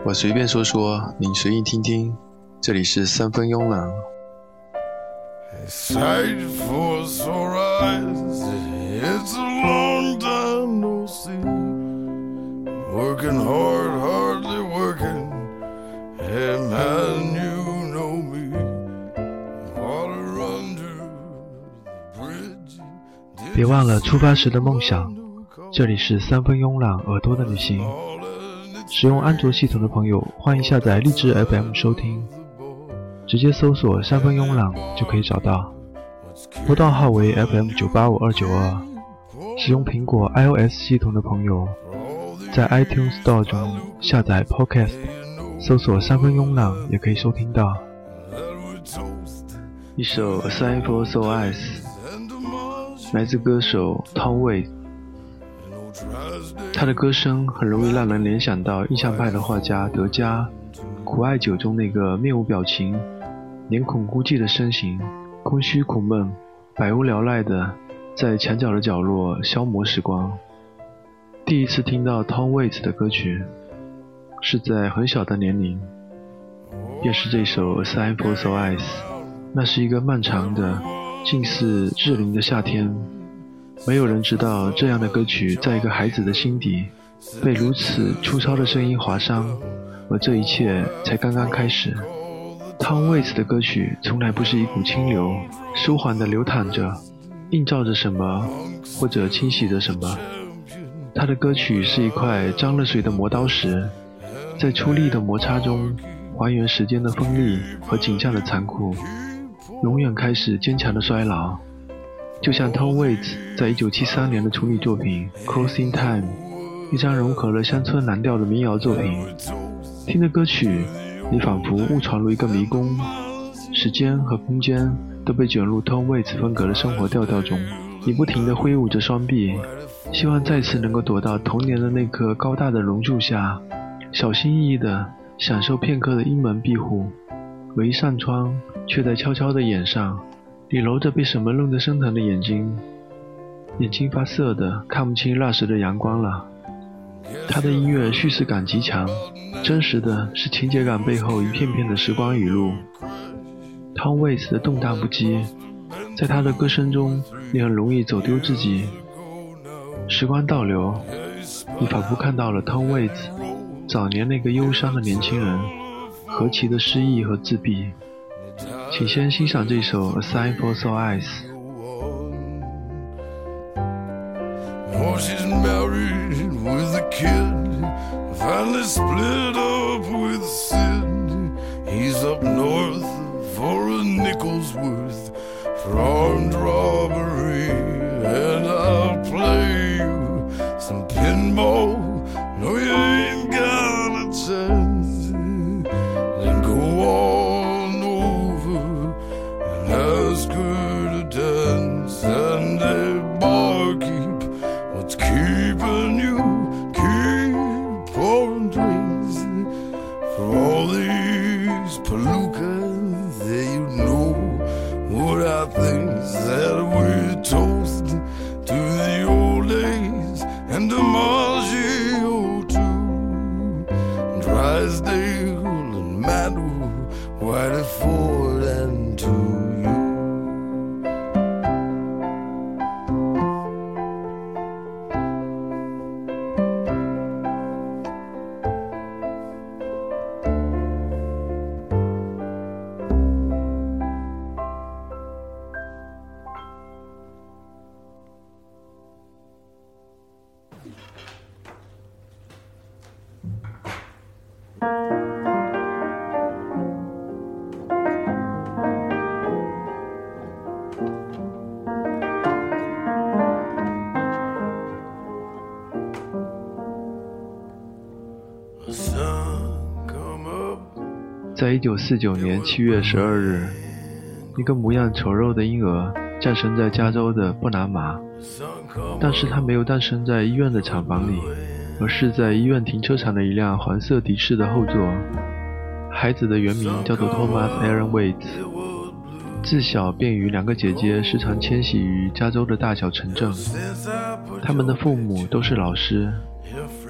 我随便说说，您随意听听。这里是三分慵懒。别忘了出发时的梦想。这里是三分慵懒耳朵的旅行。使用安卓系统的朋友，欢迎下载荔枝 FM 收听，直接搜索三分慵懒就可以找到。拨道号为 FM985292。使用苹果 iOS 系统的朋友，在 iTunes Store 中下载 Podcast， 搜索三分慵懒也可以收听到。一首 A Sign for Soul Eyes 来自歌手 Tom Waits。他的歌声很容易让人联想到印象派的画家德加苦艾酒中那个面无表情、脸孔孤寂的身形，空虚苦闷、百无聊赖的在墙角的角落消磨时光。第一次听到 Tom Waits 的歌曲是在很小的年龄，便是这首 A Sign for Soul Eyes。 那是一个漫长的近似至灵的夏天，没有人知道这样的歌曲在一个孩子的心底被如此粗糙的声音划伤，而这一切才刚刚开始。Tom Waits 的歌曲从来不是一股清流，舒缓地流淌着，映照着什么或者清洗着什么。他的歌曲是一块沾了水的磨刀石，在出力的摩擦中还原时间的锋利和景象的残酷，永远开始坚强的衰老。就像 Tom Waits 在1973年的处女作品 Closing Time， 一张融合了乡村蓝调的民谣作品。听着歌曲，你仿佛误闯入一个迷宫，时间和空间都被卷入 Tom Waits 风格的生活调调中。你不停地挥舞着双臂，希望再次能够躲到童年的那棵高大的榕树下，小心翼翼地享受片刻的阴门庇护。而一扇窗却在悄悄地掩上，你揉着被什么弄得生疼的眼睛，眼睛发涩的看不清那时的阳光了。他的音乐叙事感极强，真实的是情节感背后一片片的时光语录。Tom Waits 的动荡不羁，在他的歌声中你很容易走丢自己。时光倒流，你仿佛看到了 Tom Waits 早年那个忧伤的年轻人，何其的失意和自闭。请先欣赏这首 A Sign for Soul Eyes。 Oh, she's married with a kid, finally split up with Sid. He's up north for a nickel's worth for armed robbery, and I'll play you some pinball. No, you ain't got a chance. Then go on over and ask her to dance, and a barkeep, what's keeping you? Keep pouring drinks for all these palookas that you know. What I think that we toast to the old days and DiMaggio too, Drysdale and Madu, Whiteford and to you. 在1949年7月12日，一个模样丑陋的婴儿降生在加州的布拿马，但是他没有诞生在医院的厂房里，而是在医院停车场的一辆黄色的士的后座。孩子的原名叫做 Thomas Aaron Waits， 自小便与两个姐姐时常迁徙于加州的大小城镇。他们的父母都是老师，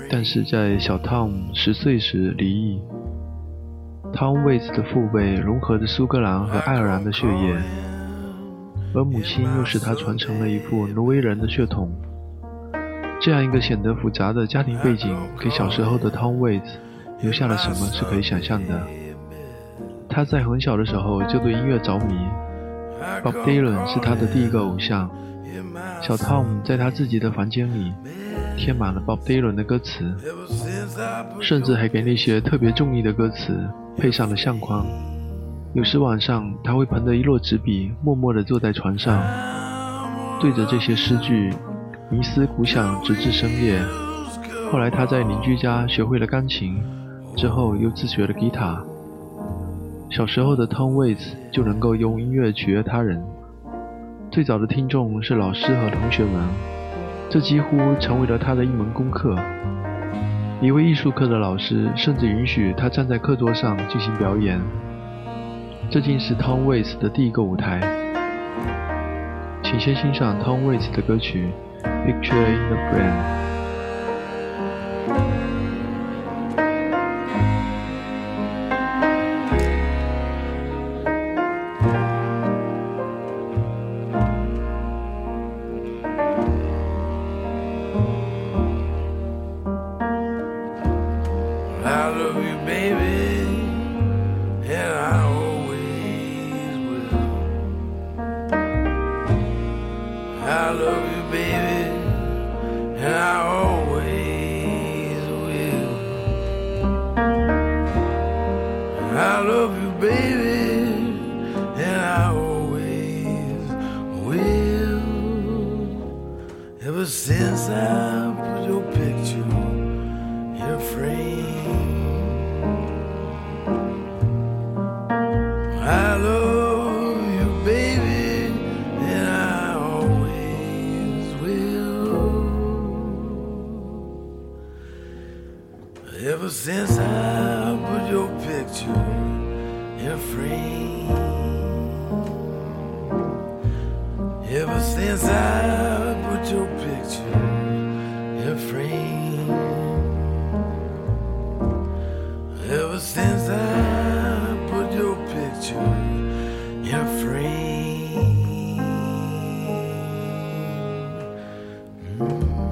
但是在小 Tom 10岁时离异。Tom Waits 的父辈融合着苏格兰和爱尔兰的血液，而母亲又使他传承了一副挪威人的血统。这样一个显得复杂的家庭背景，给小时候的 Tom Waits 留下了什么是可以想象的。他在很小的时候就对音乐着迷， Bob Dylan 是他的第一个偶像。小 Tom 在他自己的房间里贴满了 Bob Dylan 的歌词，甚至还给那些特别中意的歌词配上了相框。有时晚上他会捧着一摞纸笔，默默地坐在床上，对着这些诗句冥思苦想，直至深夜。后来他在邻居家学会了钢琴，之后又自学了吉他。小时候的 Tom Waits 就能够用音乐取悦他人，最早的听众是老师和同学们，这几乎成为了他的一门功课。一位艺术课的老师甚至允许他站在课桌上进行表演。这竟是 Tom Waits 的第一个舞台。请先欣赏 Tom Waits 的歌曲 Picture in the frame.Ever since I put your picture in a frame, I love you, baby, and I always will. Ever since I put your picture in a frame, ever since I put your picture in a frame, ever since I put your picture in a frame. Mm-hmm.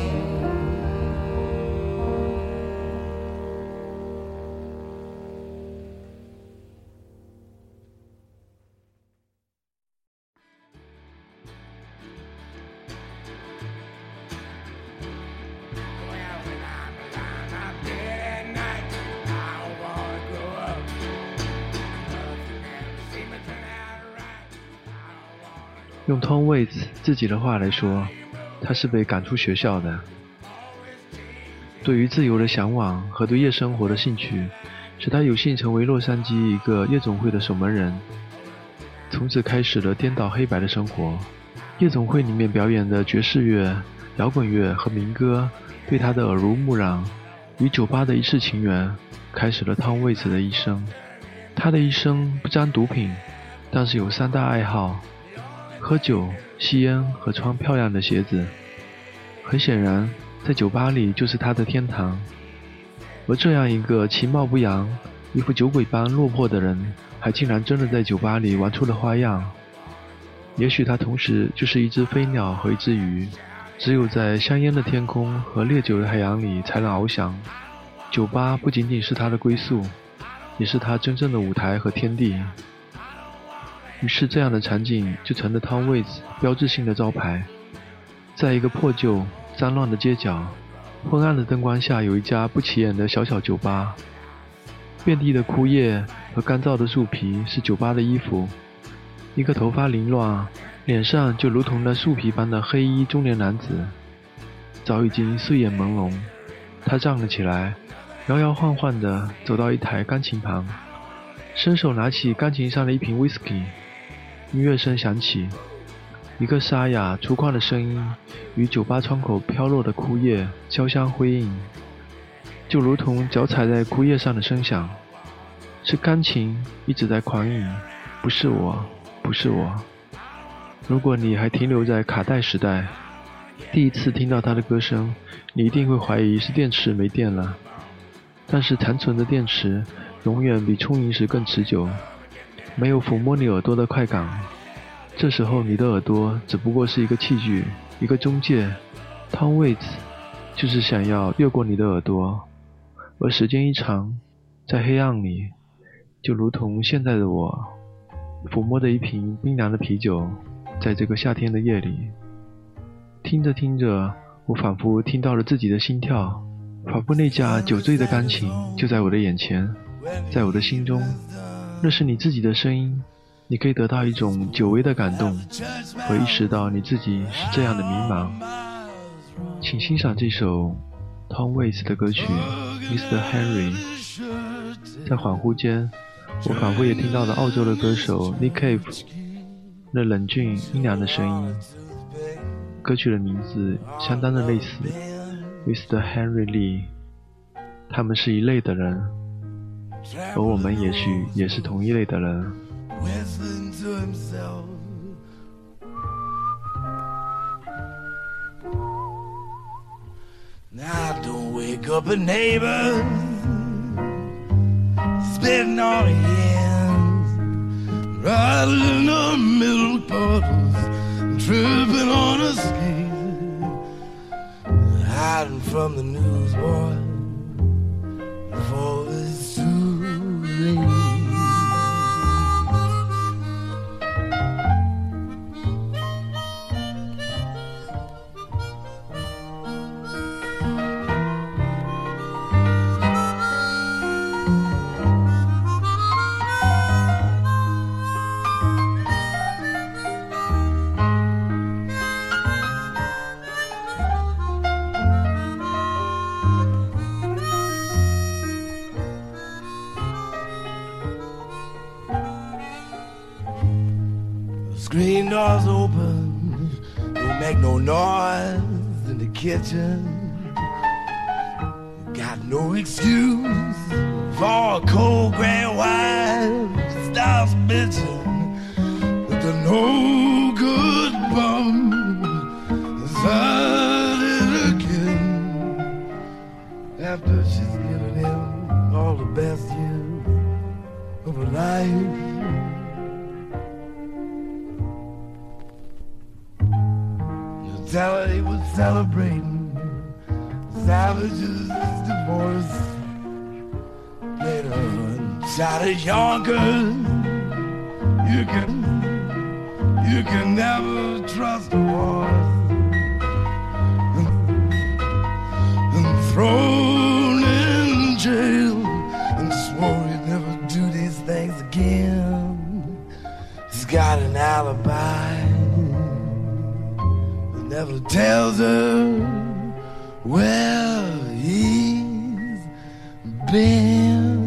用 Tom Waits 自己的话来说，他是被赶出学校的。对于自由的向往和对夜生活的兴趣，使他有幸成为洛杉矶一个夜总会的守门人，从此开始了颠倒黑白的生活。夜总会里面表演的爵士乐、摇滚乐和民歌对他的耳濡目染，与酒吧的一世情缘开始了 Tom Waits 的一生。他的一生不沾毒品，但是有3大爱好：喝酒、吸烟和穿漂亮的鞋子。很显然，在酒吧里就是他的天堂。而这样一个其貌不扬、一副酒鬼般落魄的人，还竟然真的在酒吧里玩出了花样。也许他同时就是一只飞鸟和一只鱼，只有在香烟的天空和烈酒的海洋里才能翱翔。酒吧不仅仅是他的归宿，也是他真正的舞台和天地。于是这样的场景就成了 Tom Waits 标志性的招牌。在一个破旧脏乱的街角，昏暗的灯光下有一家不起眼的小小酒吧，遍地的枯叶和干燥的树皮是酒吧的衣服。一个头发凌乱、脸上就如同那树皮般的黑衣中年男子早已经睡眼朦胧。他站了起来，摇摇晃晃地走到一台钢琴旁，伸手拿起钢琴上的一瓶 whisky。 音乐声响起，一个沙哑粗犷的声音与酒吧窗口飘落的枯叶交相辉映，就如同脚踩在枯叶上的声响。是钢琴一直在狂饮，不是我，不是我。如果你还停留在卡带时代， 第一次听到他的歌声，你一定会怀疑是电池没电了。但是残存的电池永远比充盈时更持久，没有抚摸你耳朵的快感。这时候你的耳朵只不过是一个器具，一个中介。Tom Waits 就是想要越过你的耳朵，而时间一长，在黑暗里，就如同现在的我，抚摸着一瓶冰凉的啤酒，在这个夏天的夜里，听着听着，我仿佛听到了自己的心跳，仿佛那架酒醉的钢琴就在我的眼前，在我的心中。那是你自己的声音，你可以得到一种久违的感动，和意识到你自己是这样的迷茫。请欣赏这首 Tom Waits 的歌曲 Mr. Henry。 在恍惚间，我仿佛也听到了澳洲的歌手 Nick Cave 那冷峻阴凉的声音。歌曲的名字相当的类似 Mr. Henry Lee。 他们是一类的人，而我们也许也是同一类的人。 Now don't wake up a neighbor spitting on hands, rattling the milk bottles, tripping on a scale, hiding from the newsboy before it's too late. Screen doors open, don't make no noise in the kitchen. Got no excuse for a cold gray wife starts bitching with the no good bum inside it again. After she's given him all the best years of her life, tell her he was celebrating Savage's divorce. Later on, shot at Yonkers. You can never trust a horse. And thrown in jail and swore he'd never do these things again. He's got an alibi, never tells her where he's been.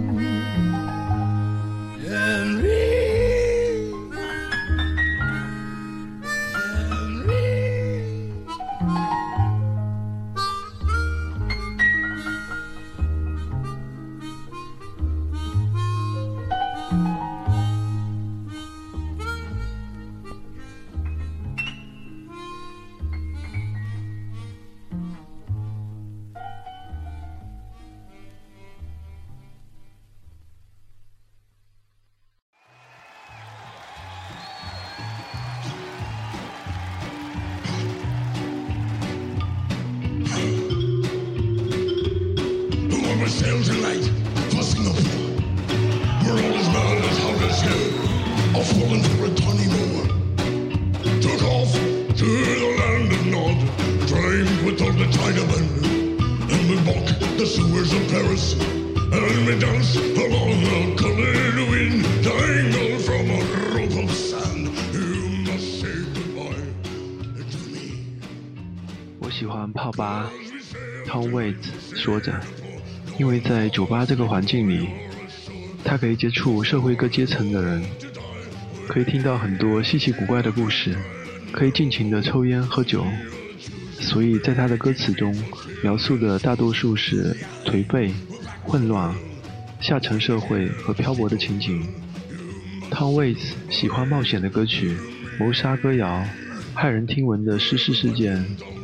Sails in light for Singapore, where all is not as hot as hell, are falling for a tawny moor. Took off to the land of Nod, drained with all the Chinamen, and we walk the sewers of Paris, and we dance along the colored wind, tangled from a rope of sand. You must say goodbye to me. 我喜欢泡吧 Tom Waits 说着，因为在酒吧这个环境里，他可以接触社会各阶层的人，可以听到很多稀奇古怪的故事，可以尽情的抽烟喝酒，所以在他的歌词中描述的大多数是颓废、混乱、下层社会和漂泊的情景。Tom Waits 喜欢冒险的歌曲、谋杀歌谣、骇人听闻的失事事件，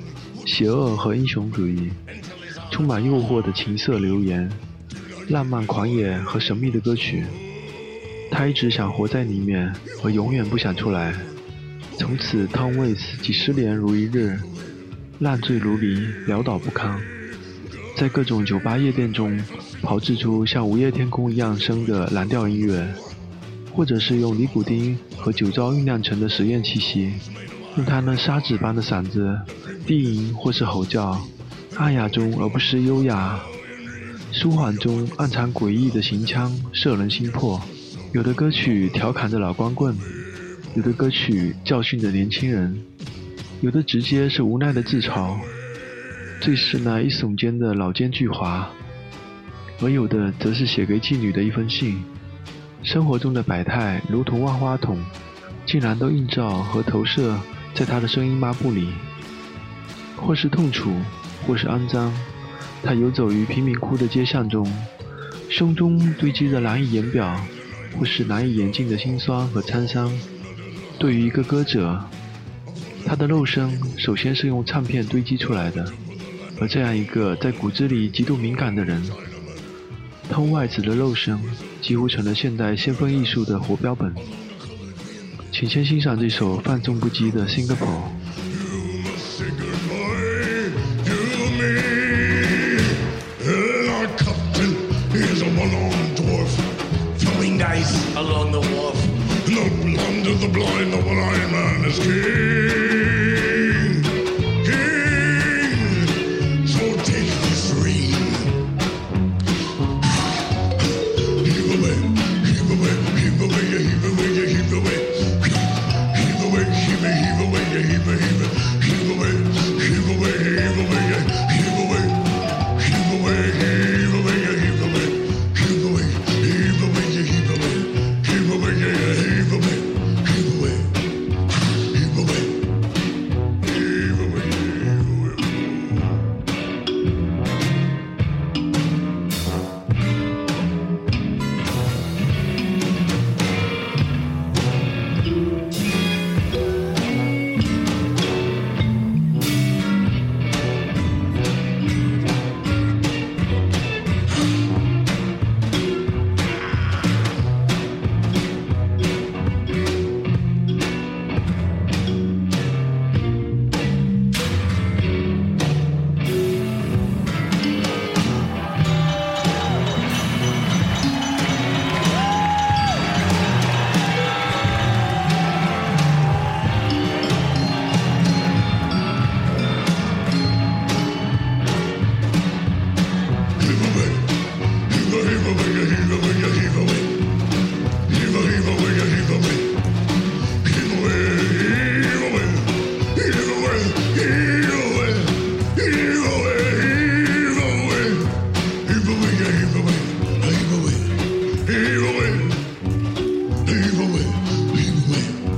邪恶和英雄主义，充满诱惑的情色流言，浪漫狂野和神秘的歌曲。他一直想活在里面，而永远不想出来。从此 Tom Waits 几十年如一日，烂醉如泥，潦倒不堪，在各种酒吧夜店中炮制出像午夜天空一样深的蓝调音乐，或者是用尼古丁和酒糟酝酿成的实验气息，用他那砂纸般的嗓子低吟或是吼叫，暗哑中而不失优雅，舒缓中暗藏诡异的行腔，摄人心魄。有的歌曲调侃着老光棍，有的歌曲教训着年轻人，有的直接是无奈的自嘲，最是那一耸肩的老奸巨猾，而有的则是写给妓女的一封信。生活中的百态如同万花筒，竟然都映照和投射在他的声音抹布里，或是痛楚，或是肮脏。他游走于贫民窟的街巷中，胸中堆积着难以言表或是难以言尽的辛酸和沧桑。对于一个歌者，他的肉身首先是用唱片堆积出来的，而这样一个在骨子里极度敏感的人，Tom Waits的肉身几乎成了现代先锋艺术的活标本。请先欣赏这首放纵不羁的 Singapore。 Along the wharf, No land of the blind, the one-eyed man is king. King, so take this ring. Heave away, heave away, heave away, heave away, heave away. Heave away, heave away, heave away, heave away, heave away, heave away, heave away, heave away, heave away, heave away, heave away, heave away, heave away, heave away. Heave away, heave away, heave away, heave away, heave away, heave away.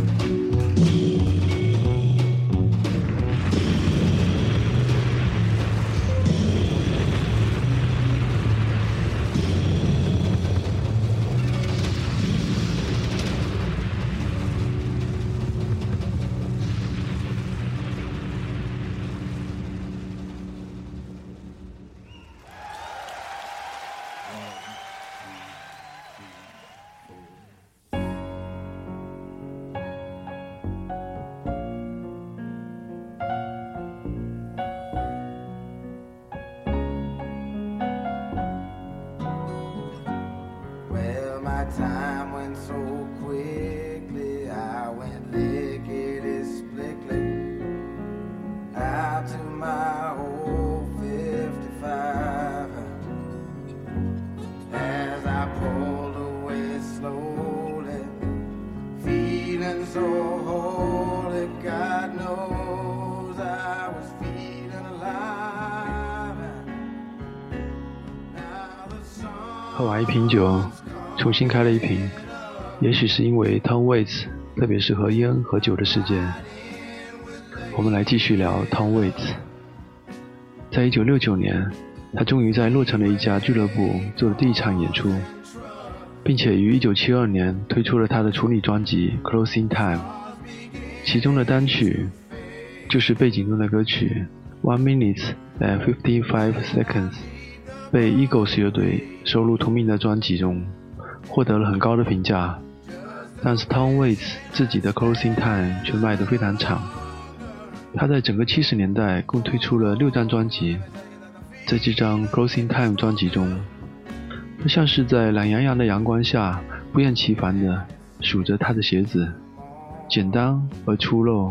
喝完一瓶酒，重新开了一瓶，也许是因为 Tom Waits 特别适合烟和酒的事件。我们来继续聊 Tom Waits。在1969年，他终于在洛城的一家俱乐部做了第一场演出，并且于1972年推出了他的处女专辑 Closing Time， 其中的单曲就是背景中的歌曲 1 Minute and 55 Seconds 被 Eagles 乐队收录同名的专辑中，获得了很高的评价。但是 Tom Waits 自己的 Closing Time 却卖得非常惨。他在整个70年代共推出了6张专辑，在这张 Closing Time 专辑中，他像是在懒洋洋的阳光下不厌其烦地数着他的鞋子，简单而粗陋。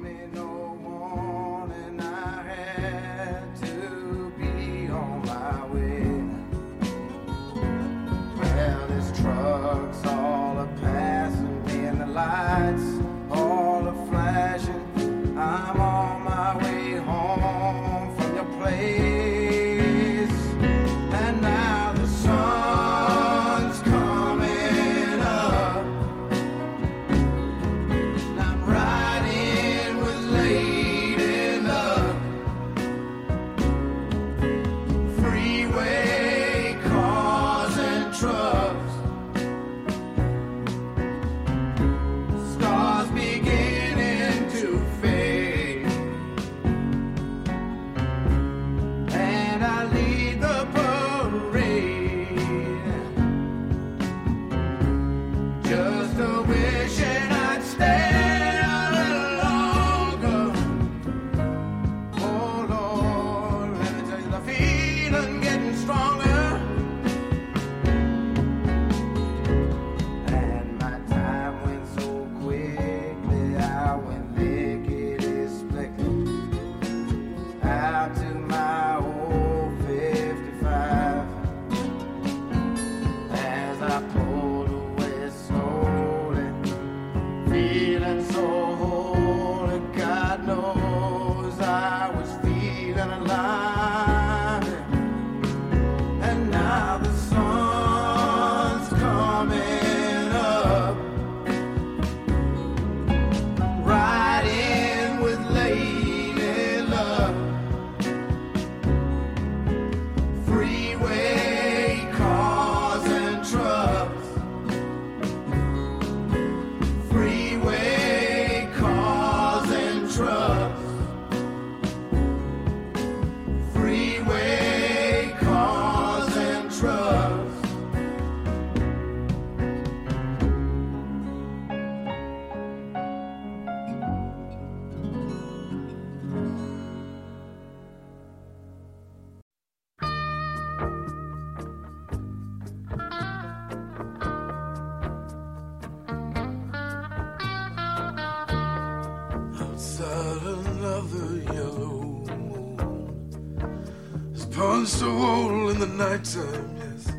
Punched a hole in the nighttime, yes.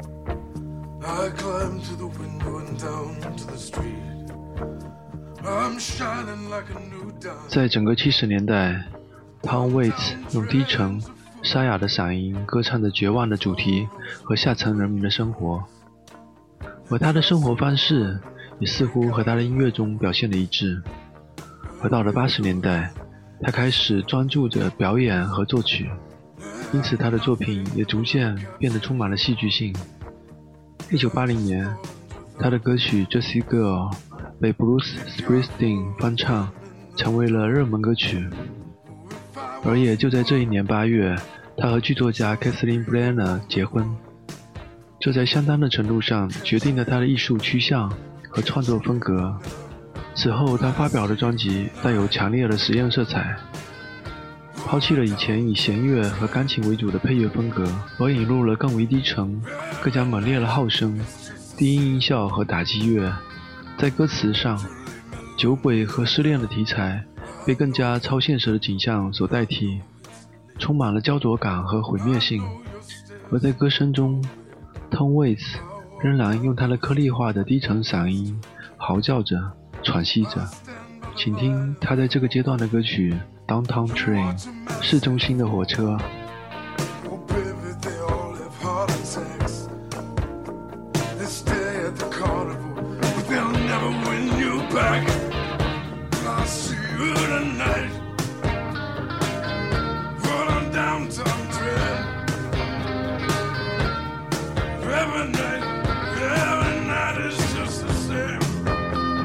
I climbed to the window and down to the street. I'm shining like a new dawn. 在整个70年代 Tom Waits 用低沉沙哑的嗓音歌唱着绝望的主题和下层人民的生活，而他的生活方式也似乎和他的音乐中表现的一致。而到了80年代，他开始专注着表演和作曲，因此他的作品也逐渐变得充满了戏剧性。1980年，他的歌曲 Jessie Girl 被 Bruce Springsteen 翻唱，成为了热门歌曲。而也就在这一年8月，他和剧作家 Kathleen Brenner 结婚，这在相当的程度上决定了他的艺术趋向和创作风格。此后他发表的专辑带有强烈的实验色彩，抛弃了以前以弦乐和钢琴为主的配乐风格，而引入了更为低沉、更加猛烈的号声、低音音效和打击乐。在歌词上，酒鬼和失恋的题材被更加超现实的景象所代替，充满了焦灼感和毁灭性。而在歌声中， Tom Waits 仍然用他的颗粒化的低沉嗓音嚎叫着、喘息着。请听他在这个阶段的歌曲 Downtown Train 市中心的火车。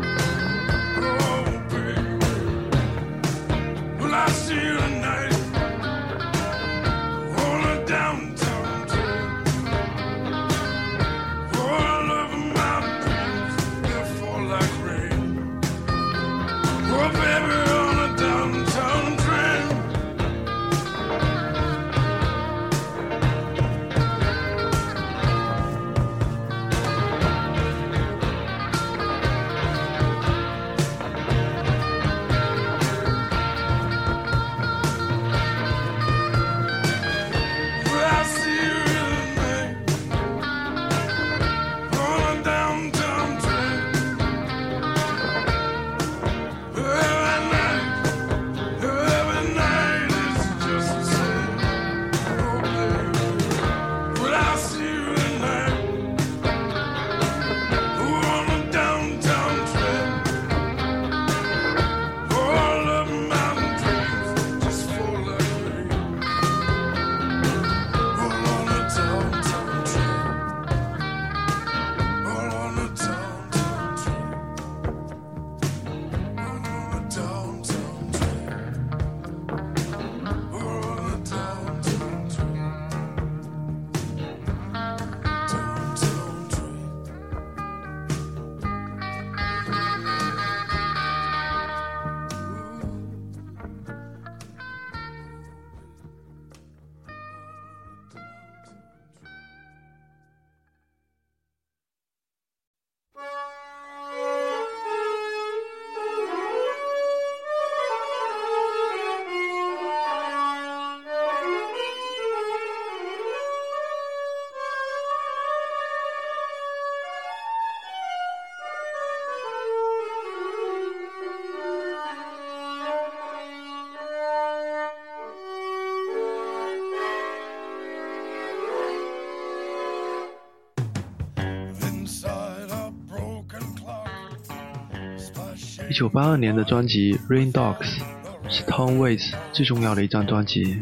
I see you tonight. 1982年的专辑 Rain Dogs 是 Tom Waits 最重要的一张专辑。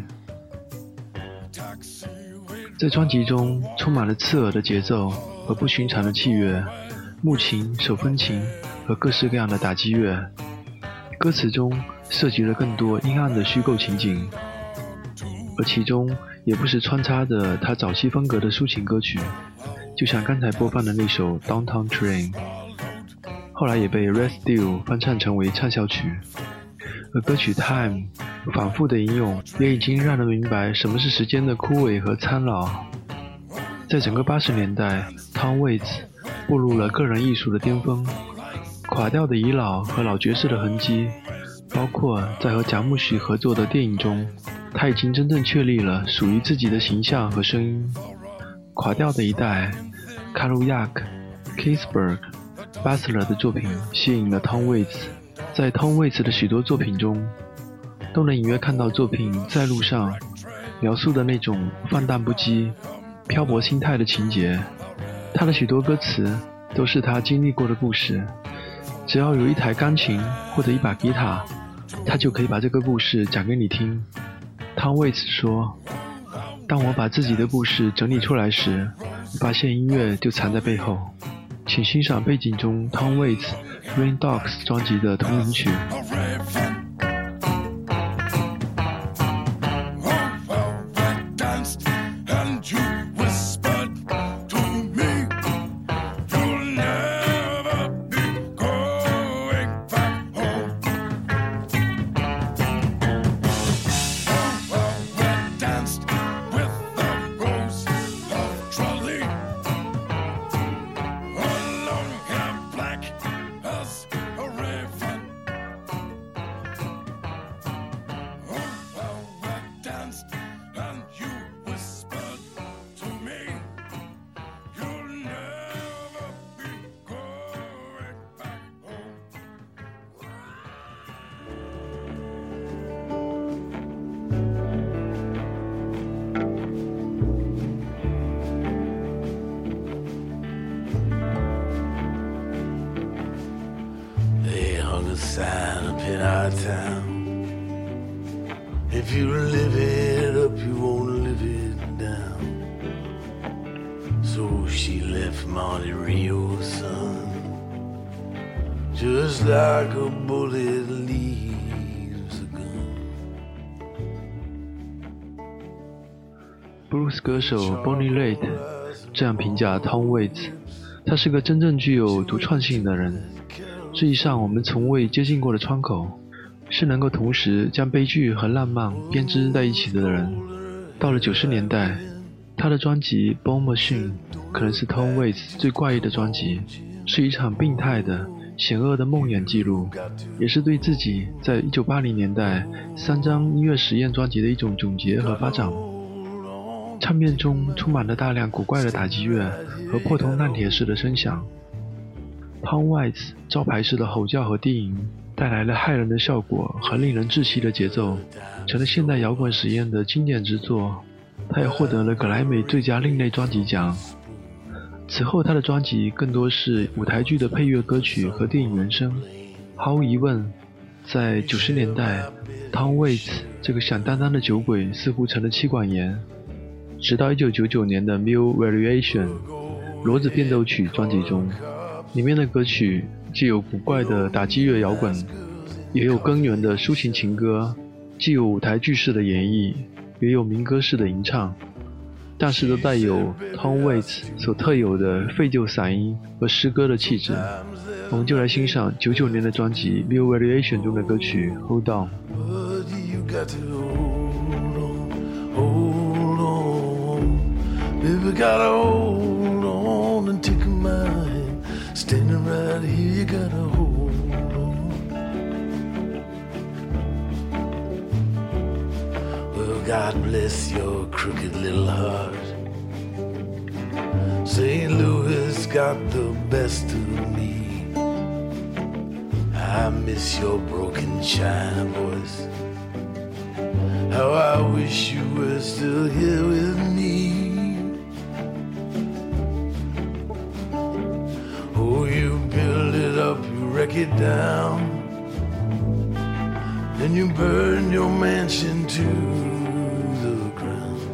在专辑中充满了刺耳的节奏和不寻常的器乐，木琴、手风琴和各式各样的打击乐。歌词中涉及了更多阴暗的虚构情景，而其中也不时穿插着他早期风格的抒情歌曲，就像刚才播放的那首 Downtown Train， 后来也被 Red Steel 翻唱成为畅销曲。而歌曲 Time 反复的引用也已经让人明白什么是时间的枯萎和苍老。在整个80年代， Tom Waits 步入了个人艺术的巅峰，垮掉的遗老和老爵士的痕迹，包括在和贾木许合作的电影中，他已经真正确立了属于自己的形象和声音。垮掉的一代，卡鲁亚克、Kingsburg、巴斯勒的作品吸引了 Tom Waits。在 Tom Waits 的许多作品中，都能隐约看到作品在路上描述的那种放荡不羁、漂泊心态的情节。他的许多歌词都是他经历过的故事，只要有一台钢琴或者一把吉他，他就可以把这个故事讲给你听。Tom Waits 说，当我把自己的故事整理出来时，发现音乐就藏在背后。请欣赏背景中 Tom Waits Rain Dogs 专辑的同名曲。 Sign up in our town. If you live it up, you won't live it down. So she left Monte Rio's son, just like a bullet leaves a gun. Blues 歌手 Bonnie Raitt 这样评价 Tom Waits， 他是个真正具有独创性的人，是一扇我们从未接近过的窗口，是能够同时将悲剧和浪漫编织在一起的人。到了90年代，他的专辑 Bone Machine 可能是 Tom Waits 最怪异的专辑，是一场病态的险恶的梦魇记录，也是对自己在1980年代3张音乐实验专辑的一种总结和发展。唱片中充满了大量古怪的打击乐和破铜烂铁式的声响。Tom Waits 招牌式的吼叫和低吟带来了骇人的效果和令人窒息的节奏，成了现代摇滚实验的经典之作。他也获得了格莱美最佳另类专辑奖。此后他的专辑更多是舞台剧的配乐歌曲和电影原声。毫无疑问，在90年代 Tom Waits 这个响当当的酒鬼似乎成了妻管严，直到1999年的 Mule Variation 骡子变奏曲专辑中，里面的歌曲既有古怪的打击乐摇滚，也有根源的抒情情歌，既有舞台剧式的演绎，也有民歌式的吟唱，但是都带有 Tom Waits 所特有的废旧嗓音和诗歌的气质。我们就来欣赏99年的专辑 Mule Variation 中的歌曲 Hold On。 Baby, gotta hold on and take my hand. Standing right here, you gotta hold on. Well, God bless your crooked little heart. St. Louis got the best of me. I miss your broken China voice. How I wish you were still here with me. Oh, you build it up, you wreck break it down, then you burn your mansion to the ground.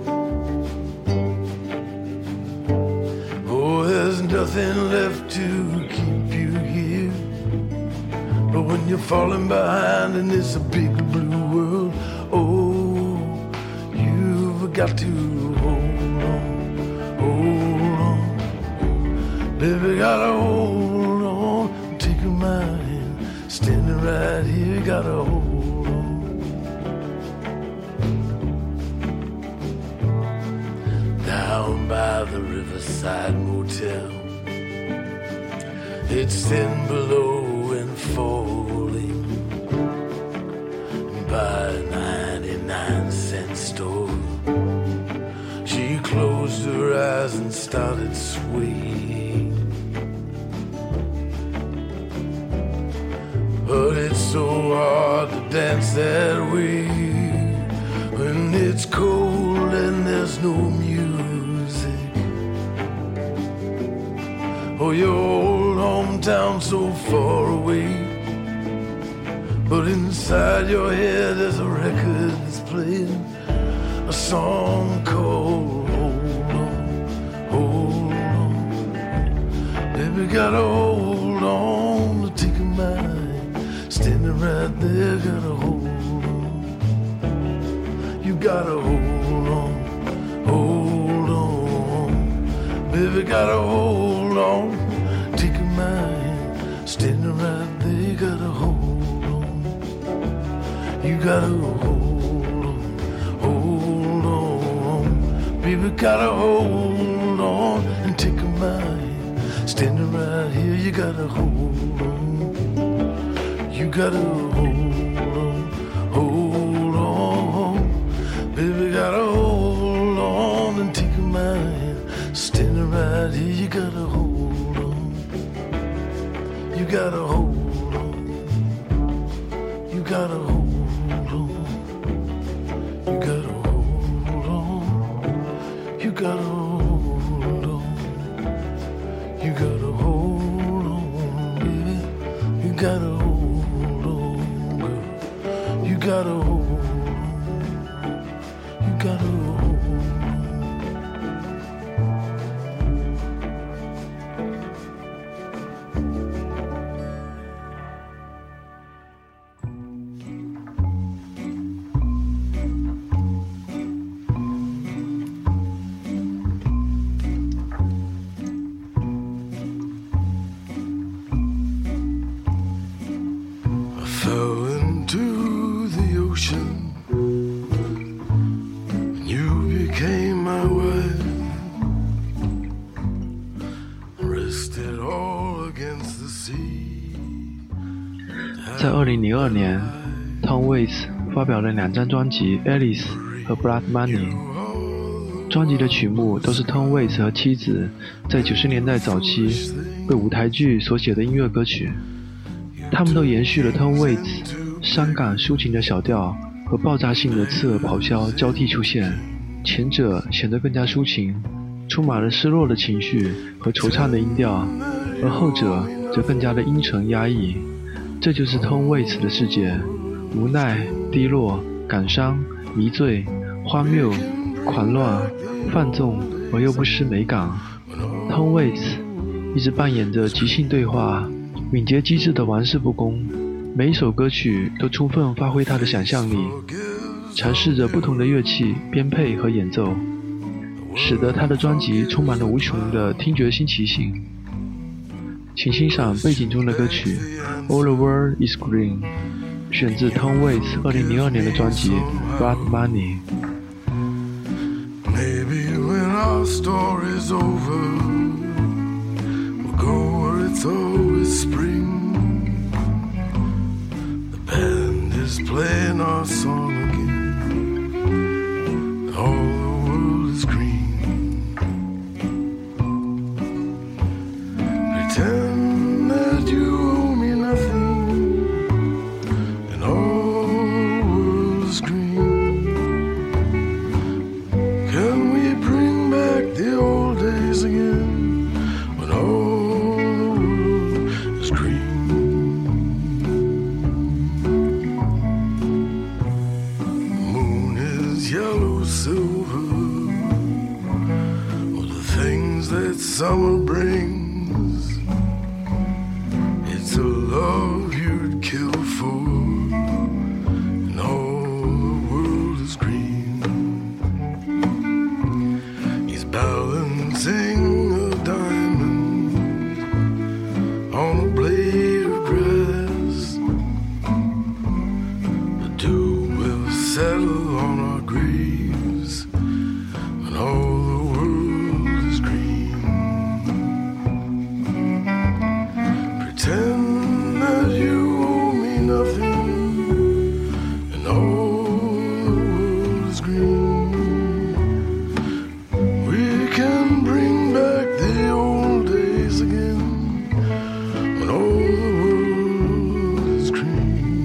Oh, there's nothing left to keep you here, but when you're falling behind in this big blue world, oh, you've got to hold on, baby, gotta hold on. Take my hand, standing right here, gotta hold on. Down by the Riverside Motel, it's thin below and falling by a 99-cent store. She closed her eyes and started swaying, but it's so hard to dance that way when it's cold and there's no music. Oh, your old hometown so far away, but inside your head there's a record that's playing a song called Hold On, Hold On. Baby, gotta hold on to take a mind, standing right there, gotta hold on. You gotta hold on, hold on. Baby, gotta hold on, take a mind, standing right there, gotta hold on. You gotta hold on, hold on. Baby, gotta hold on and take a mind, standing right here, you gotta hold on. You gotta hold on, baby, gotta hold on and take my hand, standing right here, you gotta hold on, you gotta hold on, you gotta hold on, you gotta hold on, you gotta hold on, you gotta hold on, baby, you gotta hold on. You gotta hold on, you gotta hold I fell into the ocean, and you became my wife. Rested all against the sea. 在2002年 Tom Waits 发表了2张专辑 Alice 和 Blood Money， 专辑的曲目都是 Tom Waits 和妻子在90年代早期为舞台剧所写的音乐歌曲，他们都延续了 Tom Waits 伤感抒情的小调和爆炸性的刺耳咆哮交替出现，前者显得更加抒情，充满了失落的情绪和惆怅的音调，而后者则更加的阴沉压抑。这就是 Tom Waits 的世界，无奈、低落、感伤、迷醉、荒谬、狂乱、放纵而又不失美感。Tom Waits 一直扮演着即兴对话、敏捷机智的玩世不恭，每一首歌曲都充分发挥他的想象力，尝试着不同的乐器编配和演奏，使得他的专辑充满了无穷的听觉新奇性。请欣赏背景中的歌曲 All the World is Green， 选自 Tom Waits 2002年的专辑 Blood Money。 Maybe when our story's over, we'll go where it's always spring. The band is playing our song again. All the world is green. Pretend that you owe me nothing, and all the world is green. Can we bring back the old days again, when all the world is green? things that summer brings. It's a love you'd kill for, and all the world is green. He's balancing a diamond on a blade of grass. The dew will settle on our graves when all the world is green. Pretend that you owe me nothing, and all the world is green. We can bring back the old days again when all the world is green.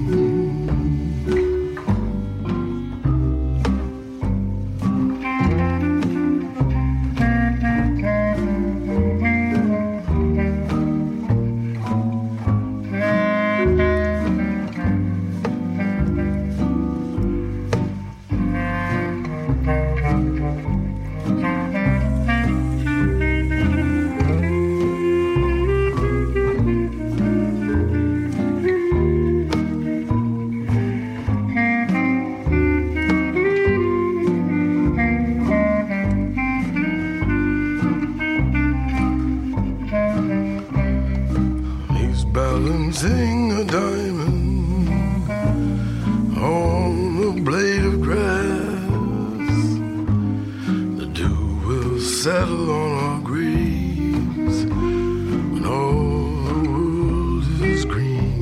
He's balancing a diamond on a blade of grass. The dew will settle on our graves when all the world is green.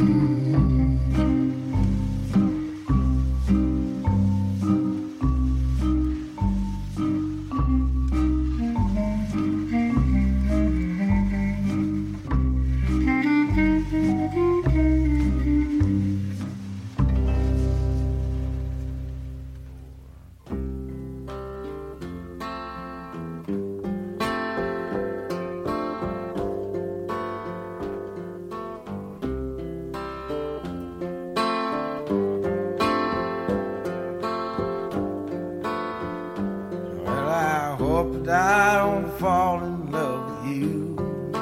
Well, I hope that I don't fall in love with you.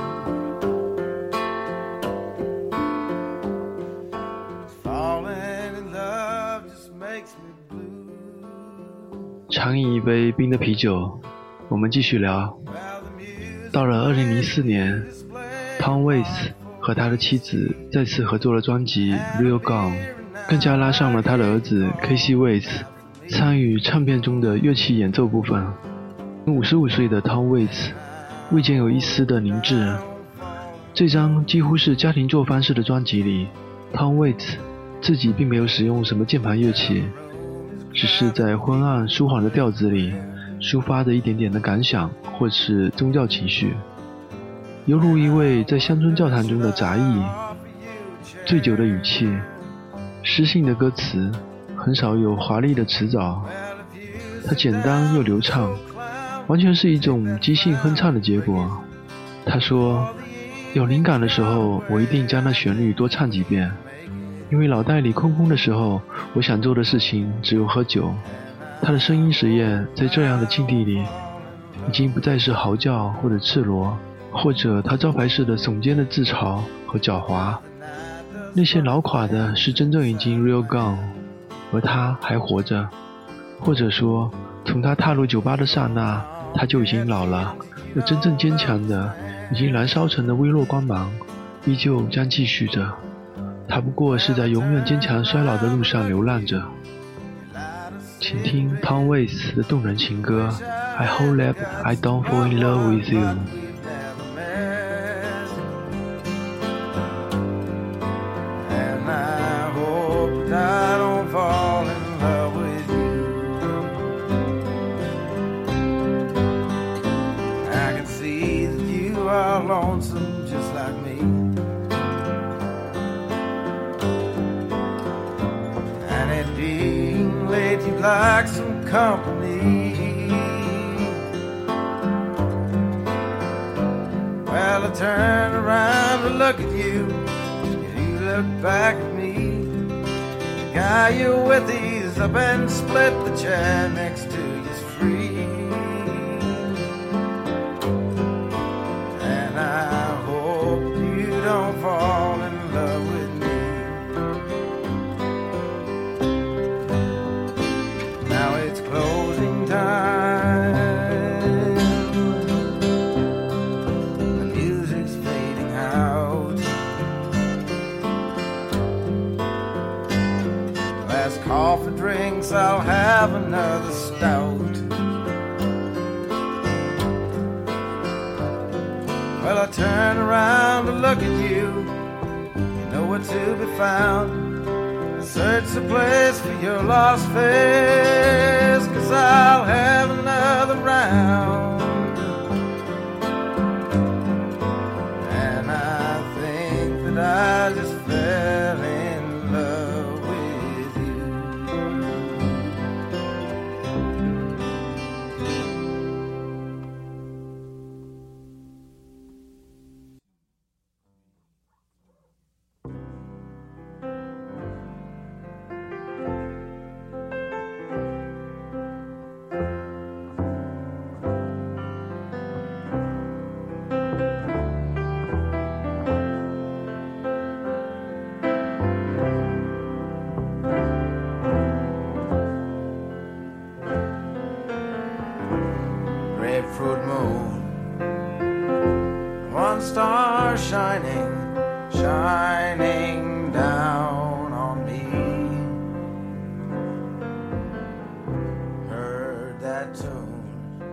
Falling in love just makes me blue. 尝饮一杯冰的啤酒，我们继续聊。 Well, the music 到了2004年 Tom Waits 和他的妻子再次合作了专辑 Real Gone， 更加拉上了他的儿子 Casey Waits 参与唱片中的乐器演奏部分。55岁的 Tom Waits 未见有一丝的凝滞。这张几乎是家庭作坊式的专辑里， Tom Waits 自己并没有使用什么键盘乐器，只是在昏暗舒缓的调子里抒发着一点点的感想或是宗教情绪，犹如一位在乡村教堂中的杂役。醉酒的语气，诗性的歌词，很少有华丽的词藻，它简单又流畅，完全是一种即兴哼唱的结果。他说，有灵感的时候，我一定将那旋律多唱几遍，因为脑袋里空空的时候，我想做的事情只有喝酒。他的声音实验在这样的境地里，已经不再是嚎叫或者赤裸，或者他招牌式的耸肩的自嘲和狡猾。那些老垮的是真正已经 real gone， 而他还活着，或者说，从他踏入酒吧的刹那，他就已经老了。而真正坚强的，已经燃烧成的微弱光芒，依旧将继续着。他不过是在永远坚强衰老的路上流浪着。请听 Tom Waits 的动人情歌 I hope that I don't fall in love with you。 And I hope that I don't fall in love with you. I can see that you are lonesome just like me, and it being late you'd like some company. Well, I turned around to look at you, and you looked back at me. The guy you're with, he's up and split. The chair next to you's free. have another stout. Well, I turn around to look at you, nowhere to be found. Search the place for your lost face, 'cause I'll have another round. And I think that I just fell in love with you. Grapefruit moon, one star shining, shining down on me. Heard that tune,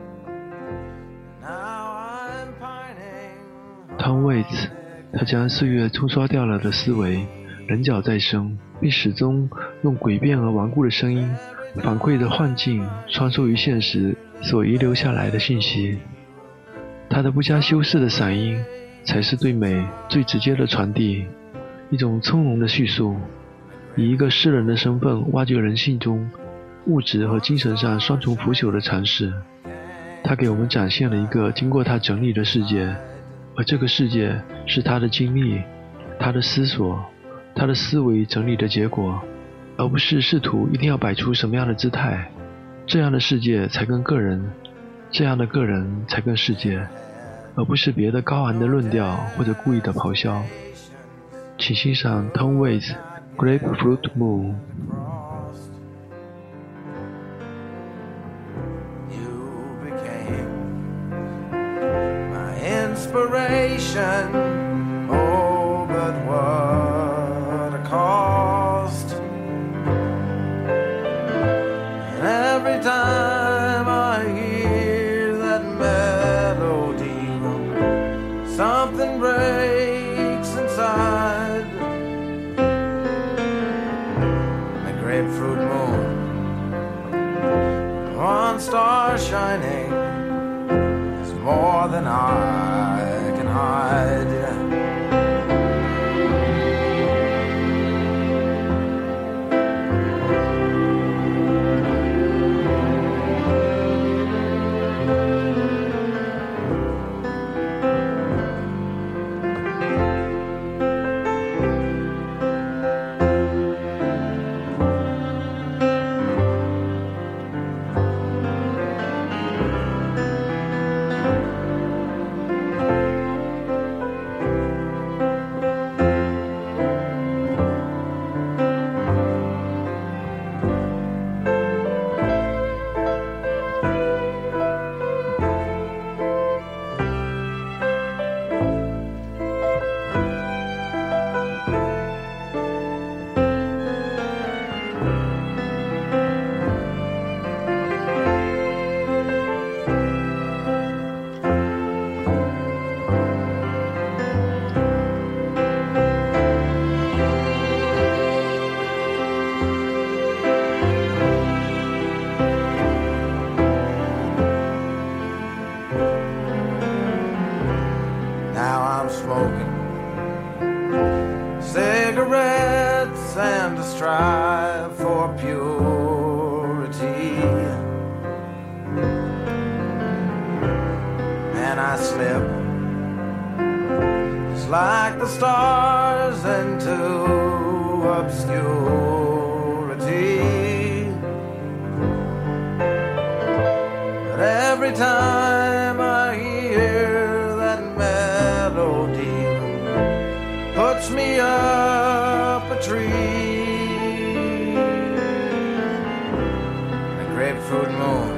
now I'm pining. 汤唯子，他将岁月冲刷掉了的思维棱角再生，并始终用诡辩而顽固的声音反馈着幻境穿梭于现实所遗留下来的信息。他的不加修饰的嗓音才是对美最直接的传递，一种从容的叙述，以一个诗人的身份挖掘人性中物质和精神上双重腐朽的尝试。他给我们展现了一个经过他整理的世界，而这个世界是他的经历、他的思索、他的思维整理的结果，而不是试图一定要摆出什么样的姿态。这样的世界才更个人，这样的个人才更世界，而不是别的高昂的论调或者故意的咆哮。请欣赏 Tom Waits Grapefruit Moon。 You became my inspiration. Oh, but what a cost. And every time I hear that melody, something breaks inside. The grapefruit moon, one star shining, is more than I can hide. Now I'm smoking cigarettes and I strive for purity, and I slip just like the stars into obscurity. But every time I hear that melody, puts me up a tree. The grapefruit moon,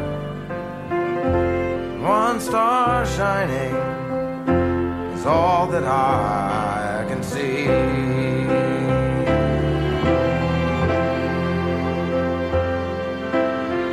one star shining, is all that I can see.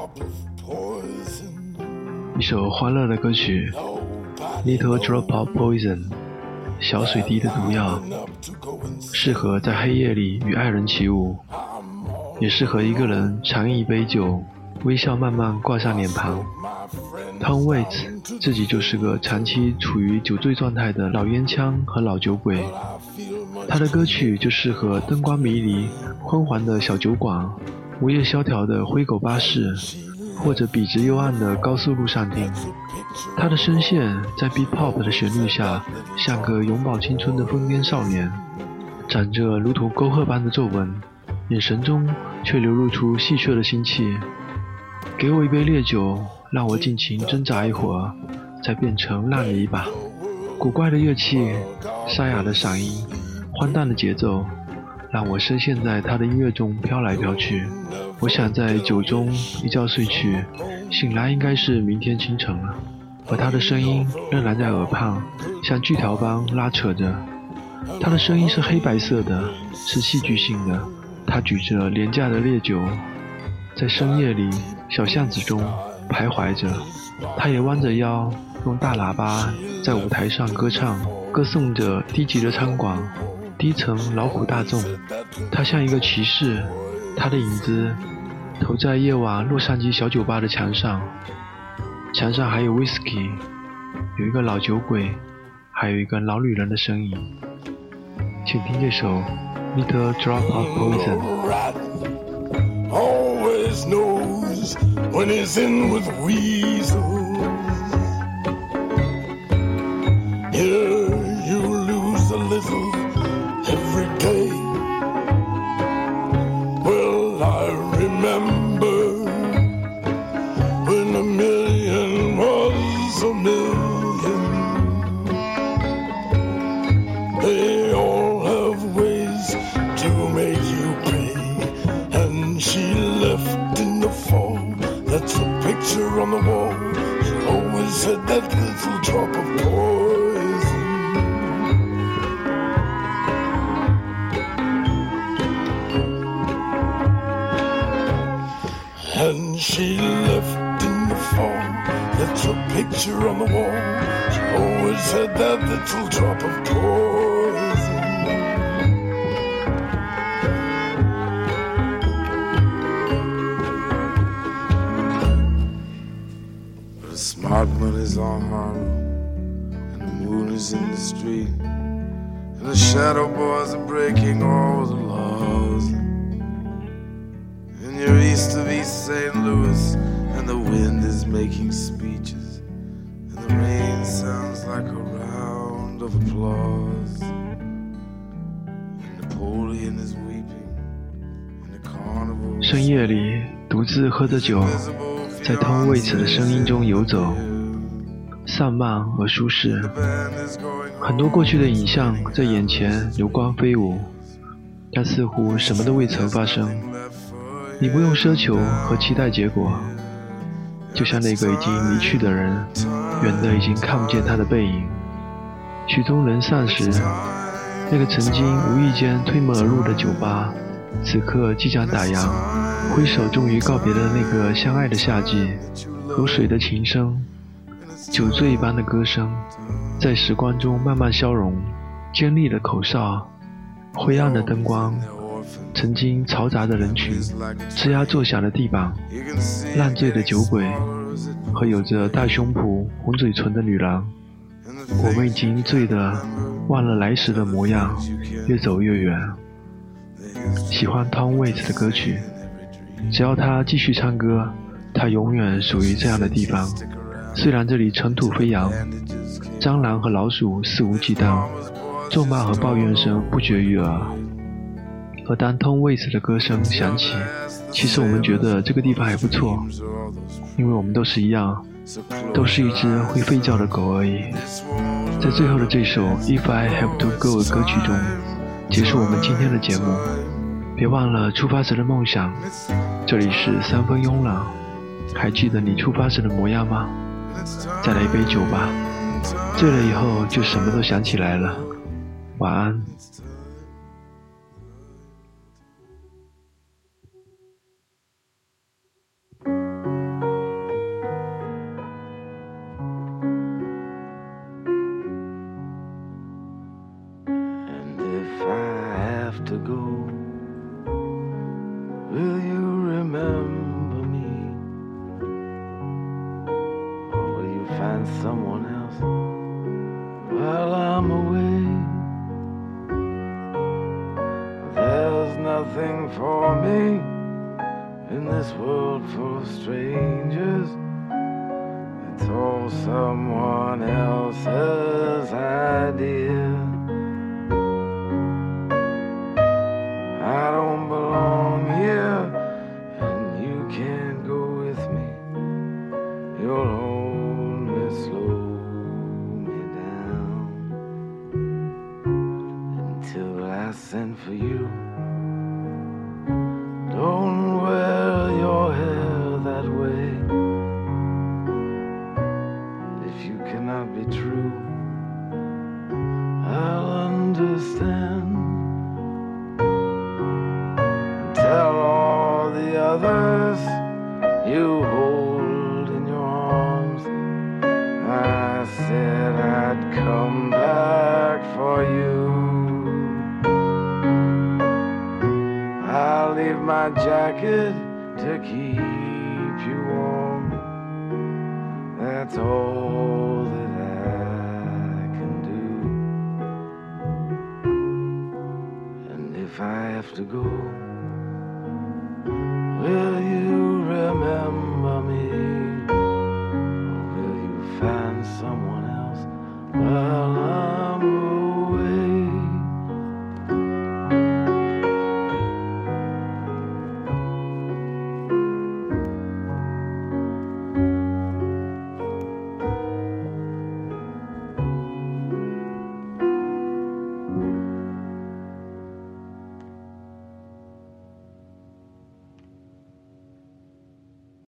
一首欢乐的歌曲 Little Drop of Poison， 小水滴的毒药，适合在黑夜里与爱人起舞，也适合一个人长饮一杯酒，微笑慢慢挂上脸庞。Tom Waits 自己就是个长期处于酒醉状态的老烟枪和老酒鬼，他的歌曲就适合灯光迷离、昏黄的小酒馆、午夜萧条的灰狗巴士，或者笔直幽暗的高速路上听。他的声线在 Beat Pop 的旋律下，像个永葆青春的疯癫少年，长着如同沟壑般的皱纹，眼神中却流露出戏谑的心气。给我一杯烈酒，让我尽情挣扎一会儿，再变成烂泥巴。古怪的乐器，沙哑的嗓音，荒诞的节奏，让我深陷在他的音乐中飘来飘去。我想在酒中一觉睡去，醒来应该是明天清晨了，而他的声音仍然在耳畔，像锯条般拉扯着。他的声音是黑白色的，是戏剧性的。他举着廉价的烈酒，在深夜里小巷子中徘徊着。他也弯着腰，用大喇叭在舞台上歌唱，歌颂着低级的餐馆，低层劳苦大众。他像一个骑士，他的影子投在夜晚洛杉矶小酒吧的墙上，墙上还有 whisky， 有一个老酒鬼，还有一个老女人的身影。请听这首 Little Drop of Poison。 Always knows when he's in with weasels. Here you lose a little every day. Well, I remember when a million was a million. They all have ways to make you pay. And she left in the fall. That's a picture on the wall. She always had that little drop of poison. And she left in the fall. That's a picture on the wall. She always had that little drop of poison. The smart money's on Harlem, and the moon is in the street, and the shadow boys are breaking all the laws. And you're east of East St. Louis, and the wind is making speeches, and the rain sounds like a round of applause. And Napoleon is weeping, and the carnival 深夜里独自喝着酒，在Tom Waits的声音中游走，散漫而舒适。很多过去的影像在眼前流光飞舞，但似乎什么都未曾发生。你不用奢求和期待结果，就像那个已经离去的人，远的已经看不见他的背影。曲终人散时，那个曾经无意间推门而入的酒吧，此刻即将打烊，挥手终于告别了那个相爱的夏季。如水的琴声，酒醉一般的歌声，在时光中慢慢消融。尖利的口哨，灰暗的灯光，曾经嘈杂的人群，吱呀作响的地板，烂醉的酒鬼和有着大胸脯红嘴唇的女郎。我们已经醉得忘了来时的模样，越走越远。喜欢 Tom Waits 的歌曲，只要他继续唱歌，他永远属于这样的地方。虽然这里尘土飞扬，蟑螂和老鼠肆无忌惮，咒骂和抱怨声不绝于耳。而当 Tom Waits 的歌声响起，其实我们觉得这个地方还不错，因为我们都是一样，都是一只会吠叫的狗而已。在最后的这首 If I Have to Go 的歌曲中，结束我们今天的节目。别忘了出发时的梦想。这里是三分慵懒，还记得你出发时的模样吗？再来一杯酒吧，醉了以后就什么都想起来了。晚安。 me in this world full of strangers. It's all someone else's idea. I don't belong here, and you can't go with me. You'll only slow me down until I send for you. Don't wear your hair that way. If you cannot be true, I'll understand. Tell all the others you hold in your arms I said I'd come back for you. I'll leave my jacket to keep you warm. That's all that I can do. And if I have to go, well,